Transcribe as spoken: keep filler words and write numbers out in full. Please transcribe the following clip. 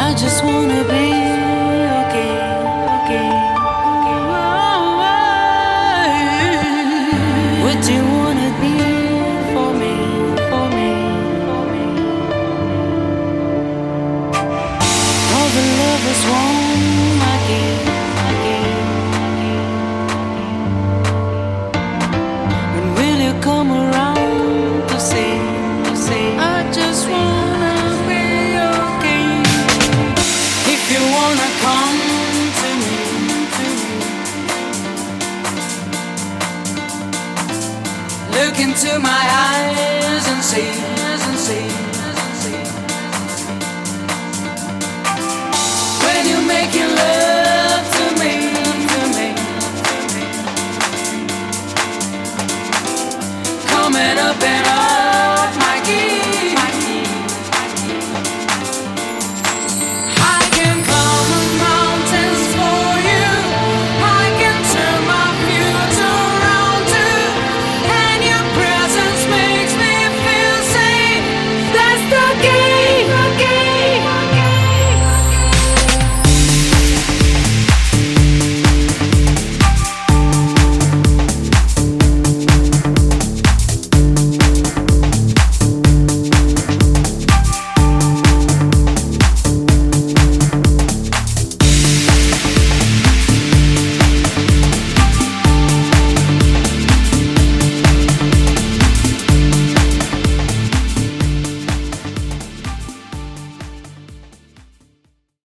just wanna be okay, okay, okay. What do you wanna be for me, for me, for me? All the lovers want my game, my game, my game. When will you come around to say, to say, I just wanna be okay? If you wanna come to me, to me, look into my eyes and see